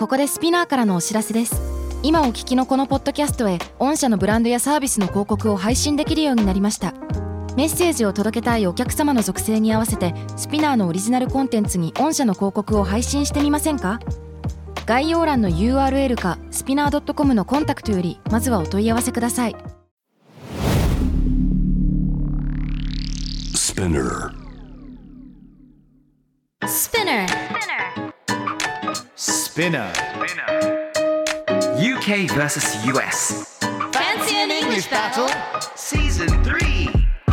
ここでスピナーからのお知らせです。今お聞きのこのポッドキャストへ御社のブランドやサービスの広告を配信できるようになりました。メッセージを届けたいお客様の属性に合わせてスピナーのオリジナルコンテンツに御社の広告を配信してみませんか？概要欄の URL かスピナー .com のコンタクトよりまずはお問い合わせください。 Spinner UK vs US Fancy an English battle Season 3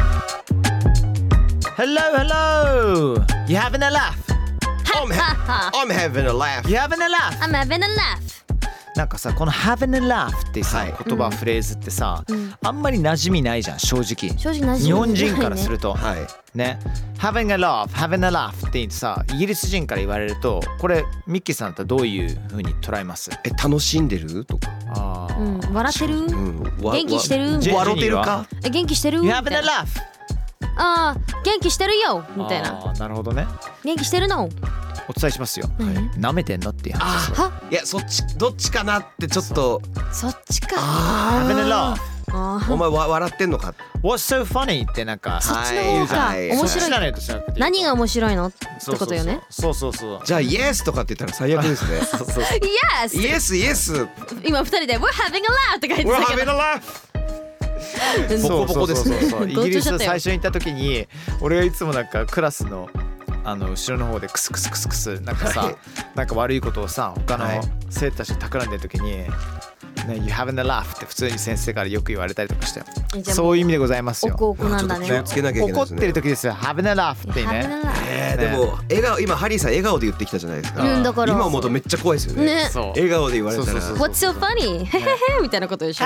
Hello. You having a laugh? I'm having a laugh. You having a laugh? I'm having a laugh なんかさ、この having a laugh ってさ、言葉フレーズってさ、あんまり馴染みないじゃん、正直。 正直馴染みないね。 日本人からすると、 はいね、having a laugh って言ってさ、イギリス人から言われると、これミッキーさんだったらどういう風に捉えます？ 楽しんでるとか、 笑ってる？元気してる？ 笑ってるか？ 元気してる？ You having a laugh? あー、元気してるよみたいな。 なるほどね。 元気してるの？ お伝えしますよ。舐めてんのっていう話です。 いや、そっちどっちかなってちょっと。 そっちか。 having a laugh。 お前笑ってんのか。 What's so funny ってなんかそっちの方か。面白い。何が面白いのってことよね。 そう。 じゃあ Yes とかって言ったら最悪ですね。Yes 今二人で We're having a laugh って書いてたけど。 We're having a laugh ボコボコですね。 イギリス最初に行った時に俺がいつもなんかクラスの後ろの方でクスクスなんかさ、なんか悪いことをさ他の生徒たちに企んでる時に、ね、You having a laugh って普通に先生からよく言われたりとかして、そういう意味でございますよ。 おこなんだね。 気をつけなきゃいけないですね。 怒ってる時ですよ having a laugh ってね。 でも笑顔、今ハリーさん笑顔で言ってきたじゃないですか。 だから今思うとめっちゃ怖いですよね。笑顔で言われたら What's so funny? へへへみたいなことでしょ。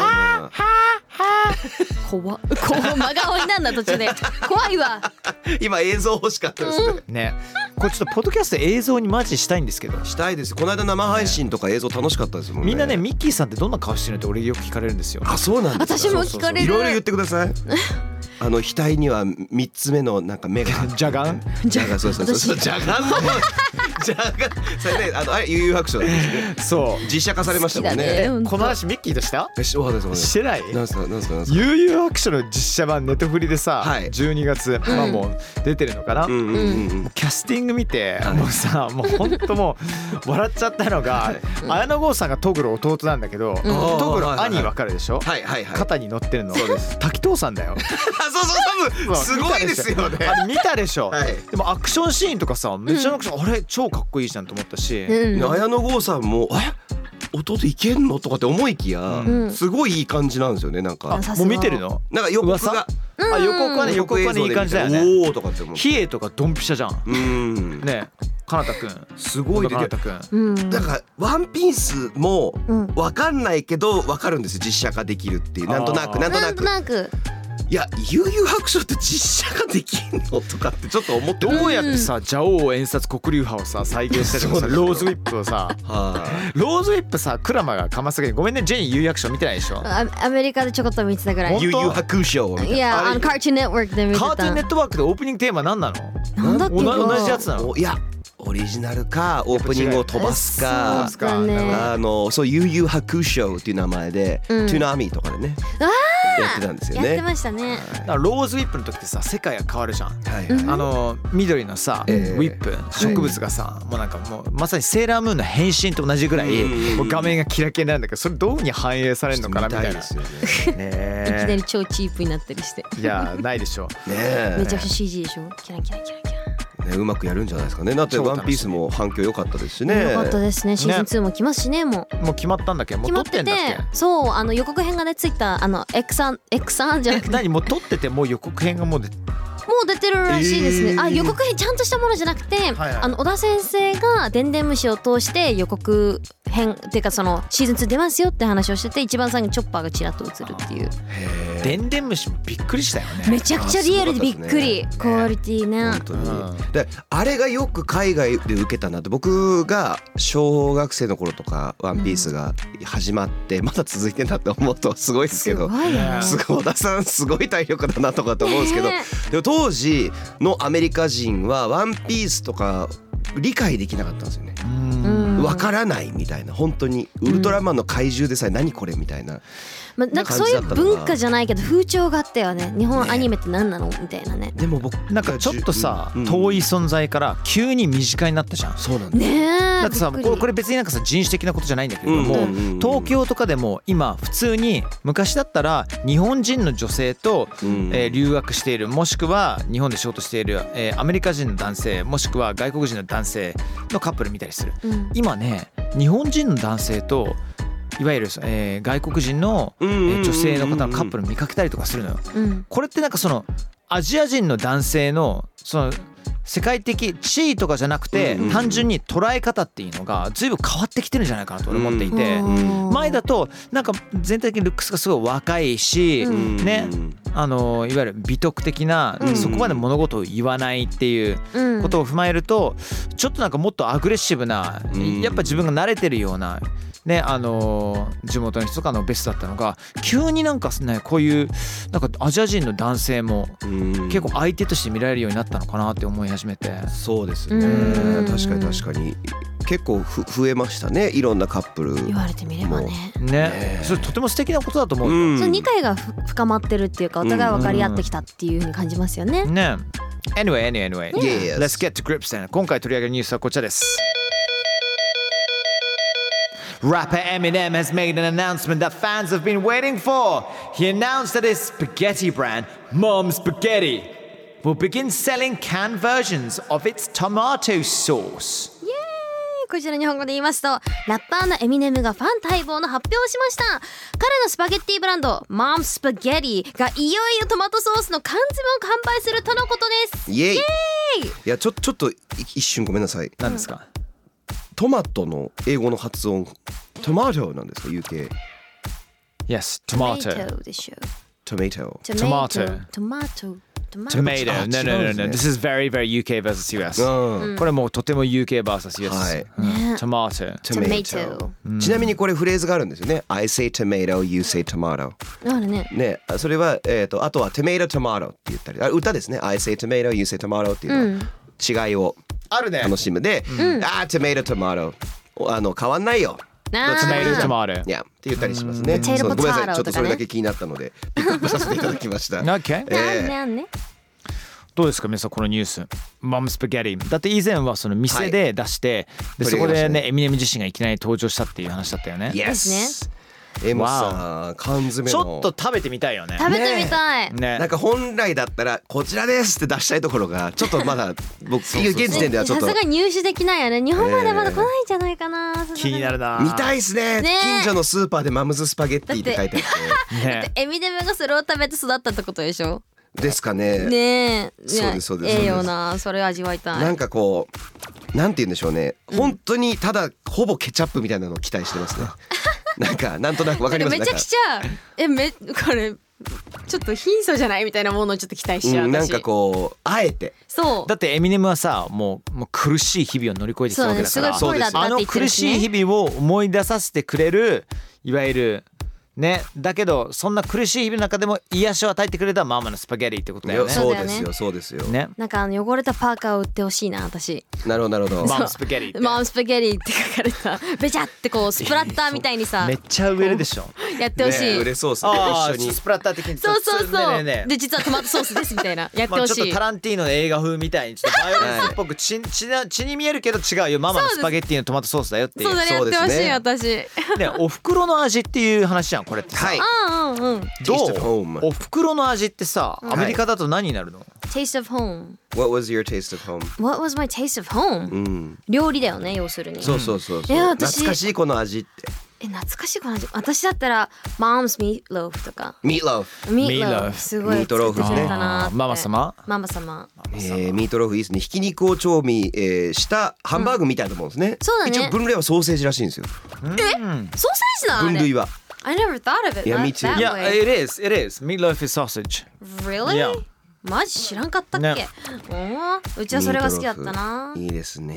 怖っ真顔になんだ途中で。怖いわ。 今映像欲しかったですね。これちょっとポッドキャスト映像にマジしたいんですけど。 したいです。この間生配信とか映像楽しかったですもんね。 みんなね、ミッキーさんってどんな顔してるのって俺よく聞かれるんですよ。 あ、そうなんですか。 私も聞かれる。 いろいろ言ってください。額には3つ目のなんか目がジャガンジャガン、そうジャガンのジャガン、それね、あれ悠々白書ですね。そう実写化されましたもんね。 この話ミッキーとした？してない？ なんすか悠々白書の実写版ネットフリでさ、12月もう出てるのかな。キャスティング見てもうさ、もう本当もう笑っちゃったのが、綾野剛さんがトグロ弟なんだけど、トグロ兄わかるでしょ？肩に乗ってるの滝藤さんだよ。 そうすごいですよね。 あれ見たでしょ。でもアクションシーンとかさ、めちゃくちゃあれ超かっこいいじゃんと思ったし、 綾野剛さんも弟いけんのとかって思いきや、すごいいい感じなんですよね。なんかもう見てるの？ なんか予告が予告はねいい感じだよね。 おーとかって思う。 比叡とかドンピシャじゃん。ね、かなたくんすごいで、 かなたくん。 だからワンピースもわかんないけどわかるんですよ。実写化できるっていう、なんとなく。いや、悠々白書って実写化できんのとかってちょっと思って、 どうやってさ、蛇王演殺黒竜派をさ再現したりとかさ、ローズウィップをさ、ローズウィップさ、クラマがかますげて、ごめんね、ジェニー悠々白書見てないでしょ。 アメリカでちょこっと見てたぐらい。 悠々白書いや、カートゥーンネットワークで見てた。 カートゥーンネットワークでオープニングテーマ何なの？ なんだっけ？ 同じやつなの？ いや、オリジナルかオープニングを飛ばすか、そう悠々白書っていう名前で、トゥナミとかでねやってたんですよね。 やってましたね。 ローズウィップの時ってさ、世界が変わるじゃん。緑のさ、ウィップ植物がさ、もうなんかもうまさにセーラームーンの変身と同じぐらい画面がキラキラになるんだけど、それどうに反映されるのかなみたいな。いきなり超チープになったりして。 いや、ないでしょ。 めちゃくちゃ CG でしょ。キラキラ。 うまくやるんじゃないですかね。だってワンピースも反響良かったですしね。 良かったですね。シーズン2も来ますしね。もう決まったんだっけ？もう撮ってんだっけ？ そう、予告編がねついたX3じゃなくて、 何もう撮ってて、もう予告編がもう出てるらしいですね。予告編ちゃんとしたものじゃなくて、小田先生がでんでん虫を通して予告編っていうか、そのシーズン2出ますよって話をしてて、一番最後にチョッパーがちらっと映るっていう。 でんでん虫もびっくりしたよね。 めちゃくちゃリアルでびっくり。クオリティね。 本当に。で、あれがよく海外で受けたなって。僕が小学生の頃とかワンピースが始まってまだ続いてんだって思うとすごいですけど、すごい小田さんすごい体力だなとかって思うんですけど、でも当時のアメリカ人はワンピースとか理解できなかったんですよね。 わからないみたいな、本当にウルトラマンの怪獣でさえ何これみたいな。 なんかそういう文化じゃないけど風潮があったよね。日本アニメって何なのみたいなね。 でも僕なんかちょっとさ、遠い存在から急に身近になったじゃん。 そうなんだ。 ねえ。 だってさ、これ別になんかさ人種的なことじゃないんだけれども、東京とかでも今普通に昔だったら日本人の女性と留学している、もしくは日本で仕事しているアメリカ人の男性、もしくは外国人の男性のカップル見たりする。今ね、日本人の男性といわゆる、外国人の、女性の方のカップル見かけたりとかするのよ。これってなんかそのアジア人の男性のその世界的地位とかじゃなくて、単純に捉え方っていうのが随分変わってきてるんじゃないかなと俺思っていて、前だとなんか全体的にルックスがすごい若いし、ね、いわゆる美徳的な、そこまで物事を言わないっていうことを踏まえると、ちょっとなんかもっとアグレッシブな、やっぱ自分が慣れてるようなね、地元の人とかのベストだったのが、急になんかね、こういうなんかアジア人の男性も結構相手として見られるようになったのかなって思い始めて。 そうですね、確かに確かに結構増えましたね、いろんなカップル。 言われてみればね。 ね、それとても素敵なことだと思うよ。 その理解が深まってるっていうか、お互い分かり合ってきたっていう風に感じますよね。 ね。Anyway, Yes. let's get to grips then. 今回取り上げるニュースはこちらです。Rapper Eminem has made an announcement that fans have been waiting for. He announced that his spaghetti brand, Mom Spaghetti, will begin selling canned versions of its tomato sauce. イエーイ。こちら日本語で言いますと、ラッパーのエミネムがファン待望の発表をしました。彼のスパゲッティブランド Mom Spaghetti がいよいよトマトソースの缶詰を販売するとのことです。 イエーイ。いやちょっと一瞬ごめんなさい。 何ですか？ トマトの英語の発音トマトなんですか UK？ Yes, tomato. Tomato. Tomato. Tomato. No. This is very, very UK versus US. これもうとても UK versus US。はい。Tomato. Tomato。 ちなみにこれフレーズがあるんですよね。I say tomato, you say tomato。 あるね。 ね、それはあとは tomato tomato って言ったり、歌ですね。I say tomato, you say tomato っていうのは違いを楽しむで、tomato tomato 変わんないよ。 Tomato. いやって言ったりしますね。 そうごめんなさい、ちょっとそれだけ気になったのでピックアップさせていただきました。 Okay. どうですか皆さんこのニュース。Mom Spaghetti。だって以前はその店で出して、でそこでねエミネム自身がいきなり登場したっていう話だったよね。 Yes。もさ、缶詰のちょっと食べてみたいよね。 食べてみたい。 ね。 なんか本来だったらこちらですって出したいところがちょっとまだ僕現時点ではちょっとさすが入手できないよね。日本までまだ来ないんじゃないかな。 気になるな。 見たいですね。近所のスーパーでマムズスパゲッティって書いてあって。 エミネムがそれを食べて育ったってことでしょ。 ですかね。 ねえ。 そうです。 ええよな。それ味わいたい。 なんかこうなんて言うんでしょうね。本当にただほぼケチャップみたいなのを期待してますね。なんとなくわかります。 めちゃくちゃこれちょっと貧相じゃないみたいなものをちょっと期待しちゃう。 なんかこうあえて。 そう。 だってエミネムはさもう苦しい日々を乗り越えてきたわけだから、 そうです。 あの苦しい日々を思い出させてくれるいわゆるね、だけどそんな苦しい日々の中でも癒しを与えてくれたママのスパゲッティってことだよね。 そうですよ。 ね。 なんか汚れたパーカーを売ってほしいな私。 なるほど。 ママスパゲッティ。 ママスパゲッティって書かれたベチャってこうスプラッターみたいにさ。 めっちゃ売れるでしょ。 やってほしい。 売れそうですね。一緒にスプラッター的に。 そう。で実はトマトソースですみたいなやってほしい。 ちょっとタランティーノの映画風みたいにちょっとバイオレンスっぽく血に見えるけど違うよ。ママのスパゲッティのトマトソースだよっていう。 そうだね、やってほしい私。 ね、お袋の味っていう話じゃんこれってさ。 はい。 どう？お袋の味ってさ、アメリカだと何になるの？ Taste of home. What was your taste of home? What was my taste of home? 料理だよね要するに。 そう。懐かしいこの味って。 懐かしいこの味。私だったら Mom's meatloaf とか。 Meatloaf。 すごい作ってくれたな。 ママ様。 ミートローフいいですね。ひき肉を調味したハンバーグみたいなもんですね。 そうだね。 一応分類はソーセージらしいんですよ。 ソーセージなの？ 分類は。 I never thought of it that way. Yeah, it is. Meatloaf is sausage. Really? Yeah. マジ知らんかったっけ？うちはそれが好きだったな。 いいですね。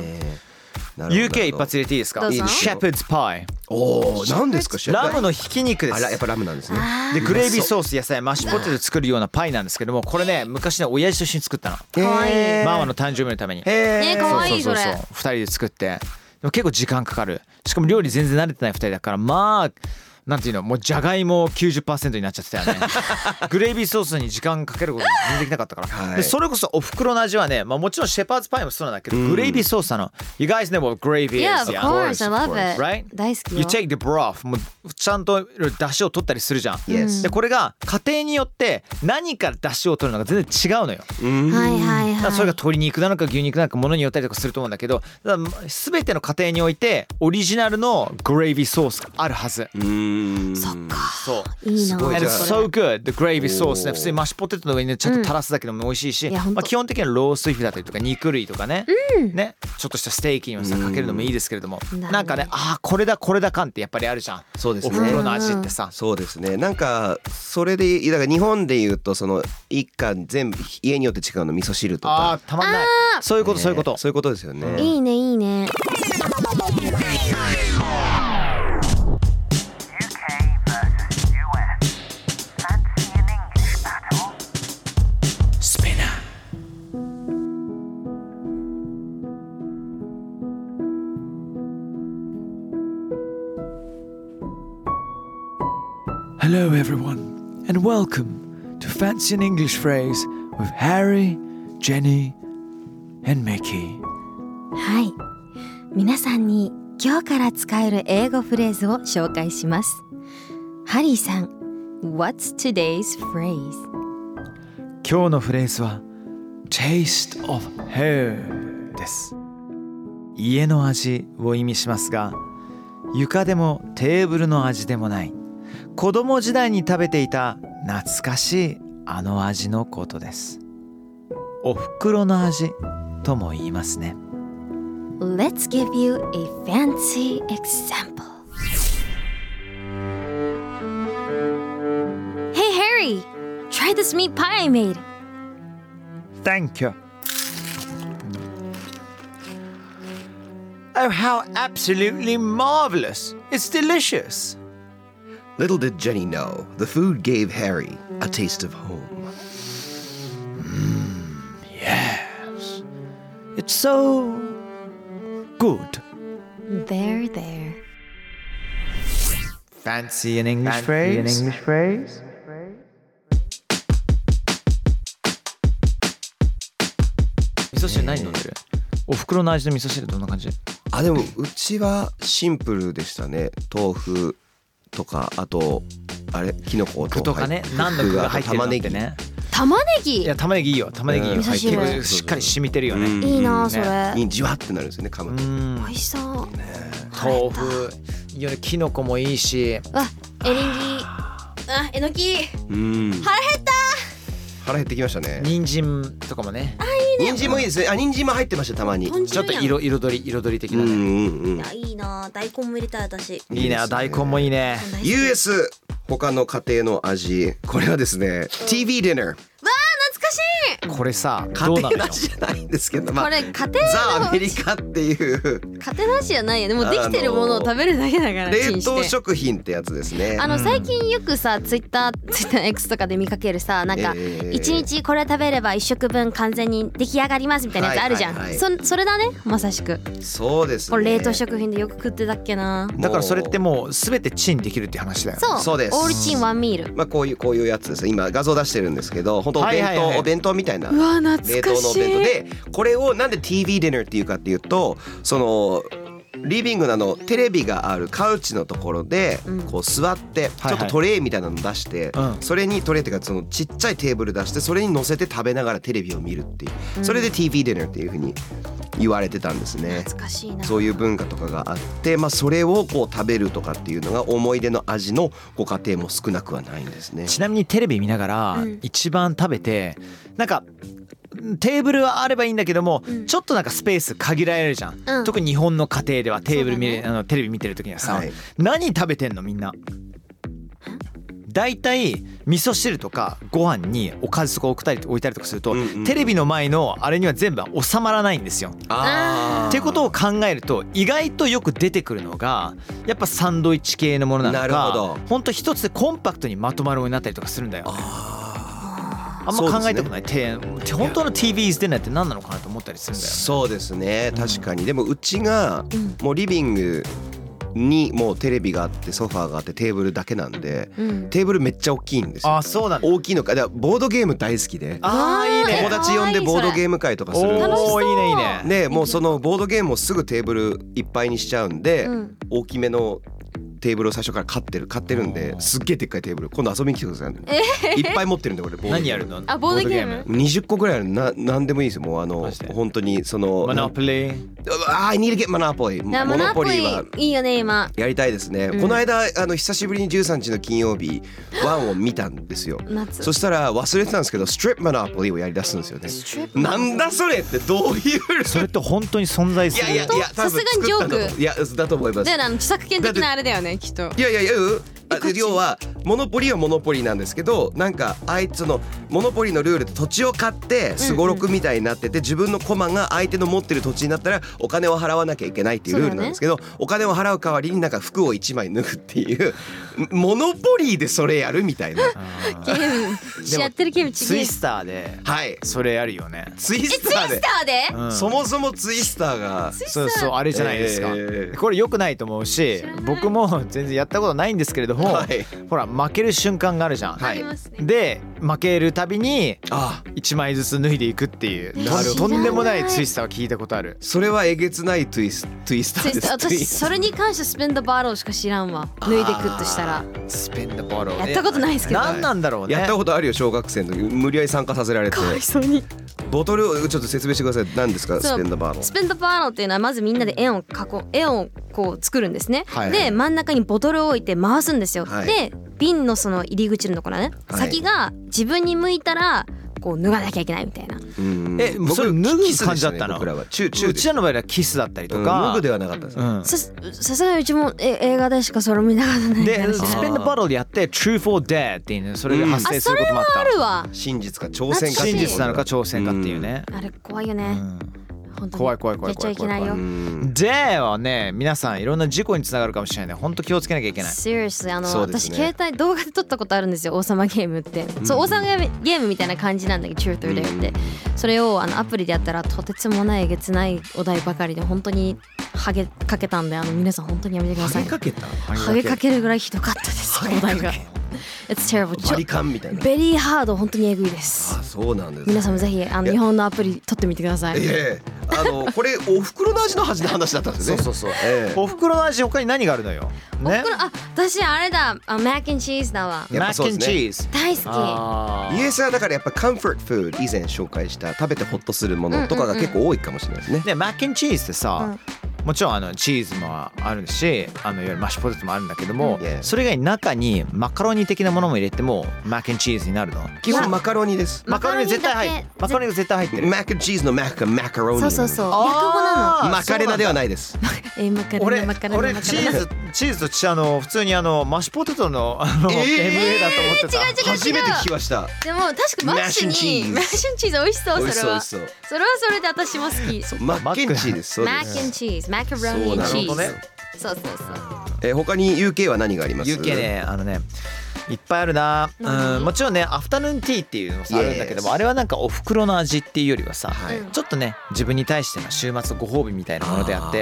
UK 一発入れていいですか？ Shepherd's pie。 おお、何ですか？ ラムのひき肉です。 やっぱラムなんですね。 でグレービーソース野菜マッシュポテト作るようなパイなんですけども、これね昔ね親父と一緒に作ったの。 かわいい。 ママの誕生日のために。 ね、かわいいそれ。 2人で作って。 も結構時間かかる。しかも料理全然慣れてない2人だから、まあなんていうの、もうじゃがいも 90% になっちゃってたよねグレイビーソースに時間かけること全然できなかったから、はい、でそれこそお袋の味はね、まあ、もちろんシェパーズパイもそうなんだけど、グレイビーソースなの。 You guys know what gravy is? Yeah, of course, I love it. Right? 大好きよ。 You take the broth もうちゃんと出汁を取ったりするじゃん、 yes. でこれが家庭によって何から出汁を取るのか全然違うのよ。 はいはいはい。 それが鶏肉なのか牛肉なのかものによったりとかすると思うんだけど、だから全ての家庭においてオリジナルのグレイビーソースがあるはず。 そっか。 そういいな。 And it's so good. The gravy sauce ね、普通にマッシュポテトの上にねちゃんと垂らすだけでも美味しいし、まあ、基本的にはローストビーフだったりとか肉類とかね、ねちょっとしたステーキにもさかけるのもいいですけれども、なんかね、あこれだ感ってやっぱりあるじゃん。 そうですね、 お袋の味ってさ。 そうですね、なんかそれでだから日本でいうとその一家全部家によって違うの、味噌汁とか。 たまんない。そういうこと、そういうことそういうことですよね。 いいねいいね。 Hello everyone and welcome to Fancy an English Phrase with Harry, Jenny and Mickey. はい、皆さんに今日から使える英語フレーズを紹介します。ハリーさん、What's today's phrase? 今日のフレーズは Taste of home です。家の味を意味しますが、床でもテーブルの味でもない、子供時代に食べていた懐かしいあの味のことです。お袋の味とも言いますね。 Let's give you a fancy example. Hey Harry, try this meat pie I made. Thank you. Oh, how absolutely marvelous. It's delicious. Little did Jenny know, the food gave Harry a taste of home. Yes. It's so good. There. Fancy an English phrase? 味噌汁何飲んでる？お袋の味の味噌汁どんな感じ？ でもうちはシンプルでしたね。豆腐とか、あとキノコとかね、何の具が入ってるのってね。 玉ねぎ。 いや玉ねぎいいよ。玉ねぎいいよ。 味噌汁結構しっかり染みてるよね。 いいなそれ。 にじわってなるんですよね、噛むと。 美味しそう。 豆腐いいよね。キノコもいいし。 エリンギ。えのき。腹減った。 腹減ってきましたね。 人参とかもね。 人参もいいですね。人参も入ってました、たまに。 ちょっと彩り的なね。 いやいいな。大根も入れたい私。 いいね。大根もいいね。 US 他の家庭の味、これはですね、TV ディナー。 懐かしい。 これさ、 家庭の味じゃないんですけど、 これ家庭ザ・アメリカっていう家庭の味じゃないよね。もうできてるものを食べるだけだから。 冷凍食品ってやつですね。 最近よくさ、ツイッター X とかで見かけるさ、なんか一日これ食べれば1食分完全に出来上がりますみたいなやつあるじゃん。それだね、まさしく。 そうですね。 これ冷凍食品でよく食ってたっけな。 だからそれってもう全てチンできるっていう話だよね。 そうです。 オールチンワンミール。 こういうやつです。今画像出してるんですけど、本当お弁当みたいな。 うわ懐かしい。 冷凍のお弁当で、これをなんで TV ディナーっていうかっていうと、そのリビングのテレビがあるカウチのところでこう座ってちょっとトレイみたいなの出して、それにトレイっていうかそのちっちゃいテーブル出して、それに乗せて食べながらテレビを見るっていう、それで TV ディナーっていう風に言われてたんですね。 懐かしいな。 そういう文化とかがあって、それをこう食べるとかっていうのが思い出の味のご家庭も少なくはないんですね。 ちなみにテレビ見ながら一番食べて、なんかテーブルはあればいいんだけども、ちょっとなんかスペース限られるじゃん、特に日本の家庭ではテレビ見てる時にはさ、何食べてんのみんな。だいたい味噌汁とかご飯におかずとか置いたりとかすると、テレビの前のあれには全部収まらないんですよ。ってことを考えると、意外とよく出てくるのがやっぱサンドイッチ系のものなのか、ほんと一つでコンパクトにまとまるものになったりとかするんだよね。 あんま考えたことない。本当の TV's ディナーって何なのかなと思ったりするんだよね。 そうですね、確かに。でもうちがもうリビングにもうテレビがあってソファーがあってテーブルだけなんで、テーブルめっちゃ大きいんですよ。 あ、そうなんだ。 大きいのか。だからボードゲーム大好きで、 いいね。 友達呼んでボードゲーム会とかするんですよ。 おー、いいねいいね。 でもうそのボードゲームをすぐテーブルいっぱいにしちゃうんで、大きめのテーブルを最初から買ってるんで、すっげえでっかいテーブル今度遊びに来てください。いっぱい持ってるんで俺。 何やるの？ ボードゲーム 20個ぐらいある。なんでもいいですよ。もう本当にその Monopoly。 I need to get Monopoly。モノポリーはいいよね今。 やりたいですね。この間久しぶりに13日の金曜日1を見たんですよ。そしたら忘れてたんですけどStrip Monopolyをやり出すんですよね。なんだそれってどういうそれって本当に存在する？ いやさすがにジョーク。 いやだと思います。 で著作権的なあれだよねきっと。 いや要はモノポリはモノポリなんですけど、なんかあいつのモノポリのルールで土地を買ってすごろくみたいになってて、自分のコマが相手の持ってる土地になったらお金を払わなきゃいけないっていうルールなんですけど、お金を払う代わりになんか服を1枚脱ぐっていうモノポリーでそれやるみたいなゲームやってるゲームツイスターでそれやるよね。 ツイスターでそもそもツイスターがそうあれじゃないですか。これ良くないと思うし、僕も全然やったことないんですけれども、ほら負ける瞬間があるじゃん。で負けるたびに1枚ずつ脱いでいくっていうとんでもないツイスターを聞いたことある。 それはえげつないツイスターです。 私それに関してスペンドバールしか知らんわ。脱いでいくとしたらスペンドバールやったことないですけど。 何なんだろうね。 やったことあるよ。小学生の時無理やり参加させられて。 かわいそうに。 ボトルをちょっと説明してください。何ですかスペンドバーロ？ スペンドバーロっていうのはまずみんなで円をこう作るんですね。で真ん中にボトルを置いて回すんですよ。で瓶のその入り口のところね、先が自分に向いたらこう脱がなきゃいけないみたいな。 それ脱ぐ感じだったの？ 僕らはうちらの場合はキスだったりとか。 脱ぐではなかったです。 さすがにうちも映画でしかそれ見なかったね。 でスペンドバトルやって Truth or Dare っていうね、それが発生することもあった。 それはあるわ。 真実か挑戦か。 真実なのか挑戦かっていうね。 あれ怖いよね。 怖いやっちゃいけないよ。 ではね、皆さんいろんな事故につながるかもしれないね。本当気をつけなきゃいけない。 Seriously、私携帯動画で撮ったことあるんですよ。王様ゲームって、そう王様ゲームみたいな感じなんだけど Truth or Dare って、それをアプリでやったらとてつもないえげつないお題ばかりで本当にハゲかけたんで、皆さん本当にやめてください。ハゲかけるぐらいひどかったですお題が。It's terrible。 バリカンみたいな。 ベリーハード、本当にエグいです。 そうなんです。 皆さんもぜひ日本のアプリ撮ってみてください。 これお袋の味の話だったんですね。 そう。お袋の味他に何があるのよ。ね。 私あれだ、マックンチーズだわ。 マックンチーズ大好き。イエスはだからやっぱカンフォートフード、以前紹介した食べてホッとするものとかが結構多いかもしれないですね。 でマックンチーズってさ、もちろんチーズもあるし、いわゆるマッシュポテトもあるんだけども、それ以外に中にマカロニ的なものも入れてもマックンチーズになるの。 基本マカロニです。 マカロニ絶対入ってる。 マックンチーズのマックがマカロニ。 そう。略語なの。 マカレナではないです。 俺チーズと普通にマッシュポテトのMA だと思ってた。 初めて聞きました。 でも確かマッシュチーズ美味しそう。それはそれで私も好き。 マッケンチーです。 マッケンチーズ、マカロニチーズ。そう。 他に UK は何があります？ UK ね、いっぱいあるな。もちろんね、アフタヌーンティーっていうのもあるんだけども、あれはなんかお袋の味っていうよりはさ、ちょっとね自分に対しての週末のご褒美みたいなものであって、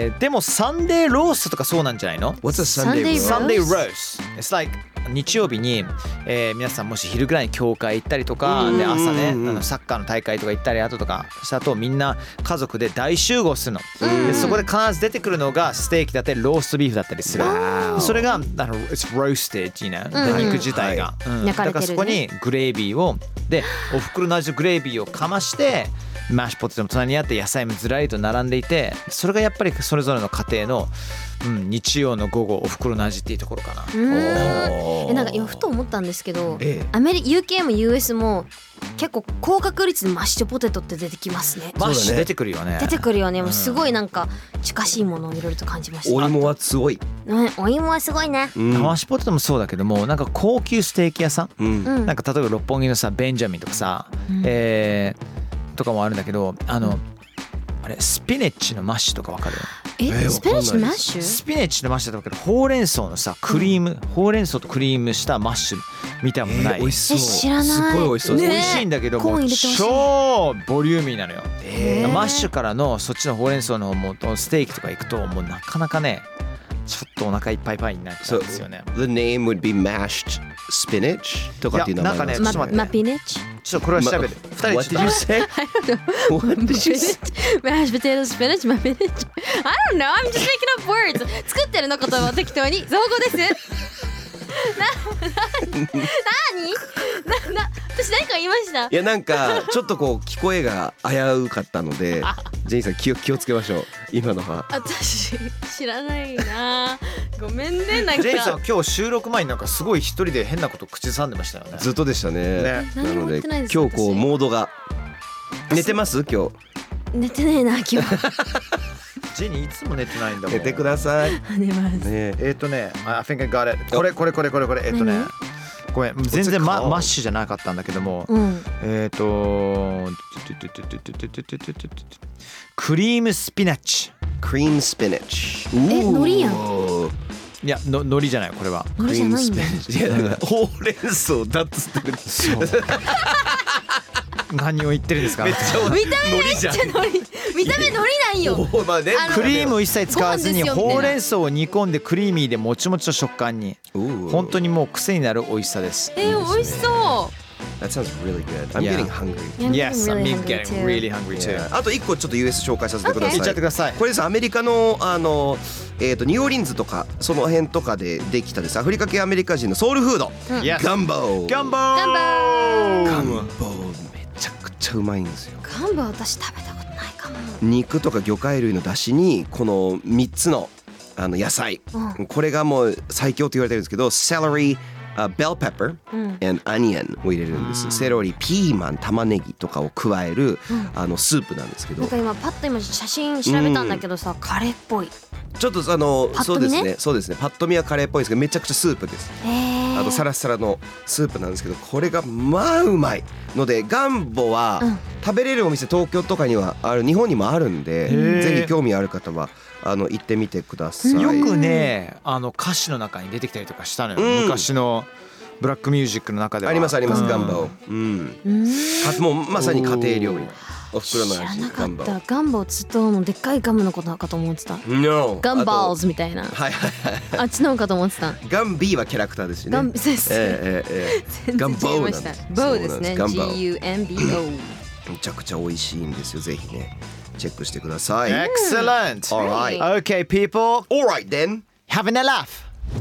でもサンデーローストとかそうなんじゃないの？ What's a Sunday roast? Sunday roast. It's like 日曜日に、皆さんもし昼ぐらいに教会行ったりとかで、朝ねサッカーの大会とか行ったりとかしたと、みんな家族で大集合するの。でそこで必ず出てくるのがステーキだったりローストビーフだったりする。それがit's roasted、肉自体が、だからそこにグレービーをでお袋の味のグレービーをかましてマッシュポテトの隣にあって野菜もずらりと並んでいて、それがやっぱりそれぞれの家庭の、日曜の午後お袋の味っていうところかな。 なんか今ふと思ったんですけど、UK も US も結構高確率でマッシュポテトって出てきますね。 マッシュ出てくるよね。 もうすごいなんか近しいものをいろいろと感じました。 お芋はすごい。 お芋はすごいね。 マッシュポテトもそうだけども、なんか高級ステーキ屋さん、なんか例えば六本木のさベンジャミンとかさ、とかもあるんだけど、あれスピネッチのマッシュとかわかる？ スピナッチのマッシュ？ スピナッチのマッシュだけどほうれん草のさクリーム、ほうれん草とクリームしたマッシュみたいなものない？ 美味しそう。 知らない。 すごい美味しそう。 美味しいんだけどもう超ボリューミーなのよ。マッシュからのそっちのほうれん草のもうステーキとか行くともうなかなかねちょっとお腹いっぱいパイになっちゃうんですよね。 The name would be mashed spinach とかっていう名前なんですか？ なんかねちょっと待ってマピネッチ？ ちょっとこれは調べる。 What did you say? What did you say? Mashed potato spinach マピネッチ。I don't know. I'm just making up words. 作ってるの言葉を適当に造語です。私何か言いました？ いやなんかちょっとこう聞こえが危うかったのでジェニーさん気をつけましょう今のは。 私知らないな。ごめんねなんか。 ジェニーさん今日収録前になんかすごい一人で変なこと口ずさんでましたよね。 ずっとでしたね。なので今日こうモードが寝てます今日？ 寝てねえな今日。 ジェニーいつも寝てないんだもん。 寝てください。 寝ます。 ねI think I got it。これごめん全然マッシュじゃなかったんだけども、クリームスピナッチ。 クリームスピナッチ。 海苔やん。 いや海苔じゃないこれは。 海苔じゃないんだ。 いやほうれん草だっつってる。 そう。何を言ってるんですか？ めっちゃ見た目めっちゃ海苔。見た目海苔なんよ。 クリームを一切使わずにほうれん草を煮込んでクリーミーでもちもちの食感に。本当にもう癖になる美味しさです。 美味しそう。 That sounds really good. I'm getting hungry. Yes, I'm getting really hungry too. あと一個ちょっと US 紹介させてください。 言っちゃってください。 これですアメリカのニューオーリンズとかその辺とかでできたですアフリカ系アメリカ人のソウルフード。ガンボー。 ガンボー。めちゃくちゃうまいんですよ。 ガンボー私食べたことないかも。 肉とか魚介類の出汁にこの3つの野菜、これがもう最強と言われてるんですけど、セロリ、bell pepper and onion を入れるんです。セロリ、ピーマン、玉ねぎとかを加える、スープなんですけど、 なんか今パッと写真調べたんだけどさ、カレーっぽい。 ちょっとそうですねパッと見はカレーっぽいですけどめちゃくちゃスープです。サラサラのスープなんですけどこれがまあうまいのでガンボは食べれるお店東京とかにはある日本にもあるんでぜひ興味ある方は行ってみてください。 よくね歌詞の中に出てきたりとかしたのよ、昔のブラックミュージックの中では。 ありますガンボ、もうまさに家庭料理お袋の味。 知らなかった。ガンボつとのでっかいガムのことかと思ってた。 No、 ガンバーズみたいな。あっちのかと思ってた。 ガンビーはキャラクターですよね。 ガンビーガンボーなんです。 ボーですね。GUMBO。 めちゃくちゃ美味しいんですよ。ぜひねチェックしてください。 Excellent. All right. Okay, people. All right then. Having a laugh.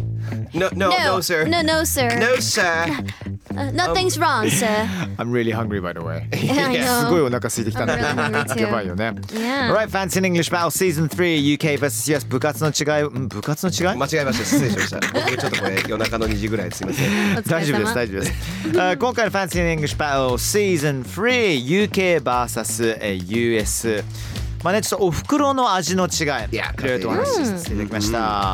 No, sir. No, sir. No, sir. Nothing's wrong, sir. I'm really hungry, by the way. I know. すごいお腹空いてきたんだけど。 I'm really hungry too. やばいよね。 Yeah. Alright, Fancy in English Battle Season 3 UK vs US 部活の違い。部活の違い？ 間違えました。失礼しました。僕ちょっとこれ夜中の2時ぐらいすいません。 大丈夫です大丈夫です。今回の Fancy in English Battle Season 3 UK vs US。まあね、ちょっとお袋の味の違い、いろいろとお話しさせていただきました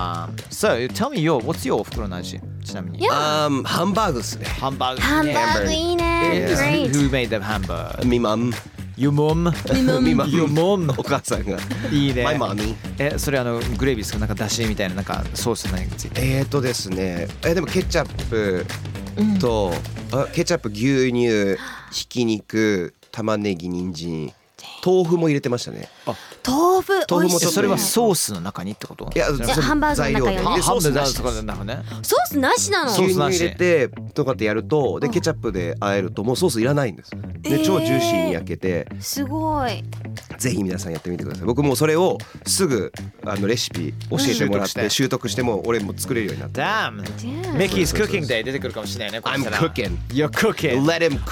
。So, tell me what's your お袋の味ちなみに。 ハンバーグですね。 ハンバーグ。 ハンバーグいいね。 Who made the hamburger? Me mom. Your mom? Your mom? お母さんが。 いいね。 My mommy. それグレービーですか？なんかだしみたいななんかソース何がついて。 ですね。でもケチャップと、ケチャップ、牛乳、ひき肉、玉ねぎ、人参。豆腐も入れてましたね。 豆腐もそれはソースの中にってこと？ いやハンバーグの中よね。 ハンバーグとかなのね。 ソースなしなの？ 牛乳入れてとかってやるとでケチャップで和えるともうソースいらないんです。で超ジューシーに焼けてすごい。 ぜひ皆さんやってみてください。僕もそれをすぐレシピ教えてもらって習得しても俺も作れるようになった。 Damn. Mickey's cooking day 出てくるかもしれないね。 I'm cooking. You're cooking. Let him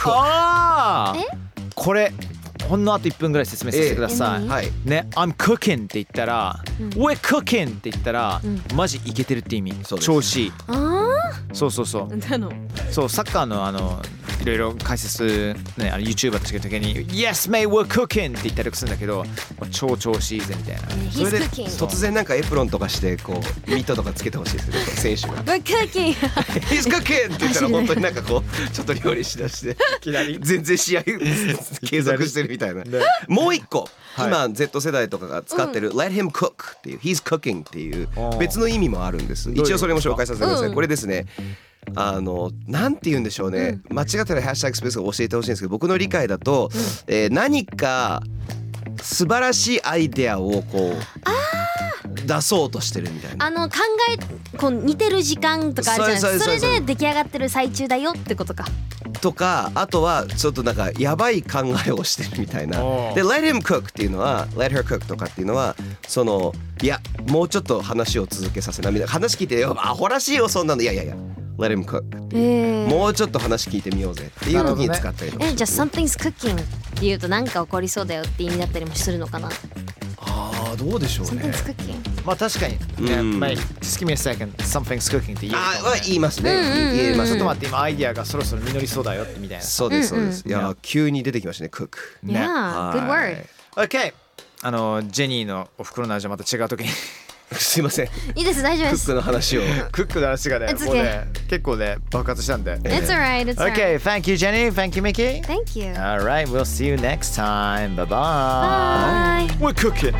cook. これほんのあと1分ぐらい説明させてください。ね、I'm cooking って言ったら、We're cooking って言ったら、マジイケてるって意味。調子いい。そう。そう、サッカーのいろいろ解説ね、YouTuber としてる時に Yes mate we're cooking って言ったりするんだけど、超調子いいぜみたいな。 それで突然なんかエプロンとかしてこうミットとかつけてほしいですね、選手が。 We're cooking He's cooking って言ったら本当になんかこうちょっと料理しだして全然試合継続してるみたいな。もう一個、今 Z 世代とかが使ってる Let him cook っていう He's cooking っていう別の意味もあるんです。一応それも紹介させてください。これですね、なんて言うんでしょうね、間違ったらハッシュタグスペースが教えてほしいんですけど、僕の理解だと、何か素晴らしいアイデアをこう出そうとしてるみたいな。 こう似てる時間とかあるじゃないですか。それで出来上がってる最中だよってことか。 とか、あとはちょっとなんかやばい考えをしてるみたいな。で Let him cook っていうのは Let her cook とかっていうのは、そのいやもうちょっと話を続けさせなみたいな。話聞いてよアホらしいよそんなの、いやLet him cook、もうちょっと話聞いてみようぜっていう時に使ったりとか。 じゃあ something's cooking っていうと何か起こりそうだよって意味だったりもするのかな。 どうでしょうね。 something's cooking まあ確かに、Mate just give me a second something's cooking って言えるかもね。 言いますね、言えますね。 ちょっと待って、今アイディアがそろそろ実りそうだよってみたいな。 そうですそうです。いや急に出てきましたね、cook。 Yeah, good word. OK、ジェニーのお袋の味はまた違う時にすいません、 いいです、大丈夫です。 クックの話をクックの話がね、もうね結構ね爆発したんで。 It's alright, it's alright. OK, thank you Jenny, thank you Mickey. Thank you. Alright, we'll see you next time. Bye Bye. bye. We're cooking.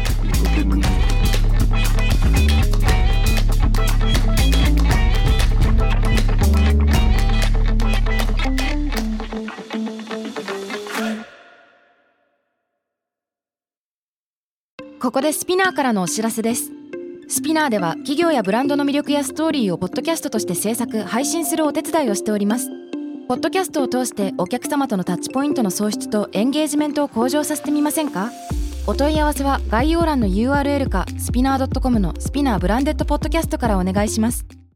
ここでスピナーからのお知らせです。スピナーでは企業やブランドの魅力やストーリーをポッドキャストとして制作・配信するお手伝いをしております。ポッドキャストを通してお客様とのタッチポイントの創出とエンゲージメントを向上させてみませんか？お問い合わせは概要欄の URL かスピナー .com のスピナーブランデッドポッドキャストからお願いします。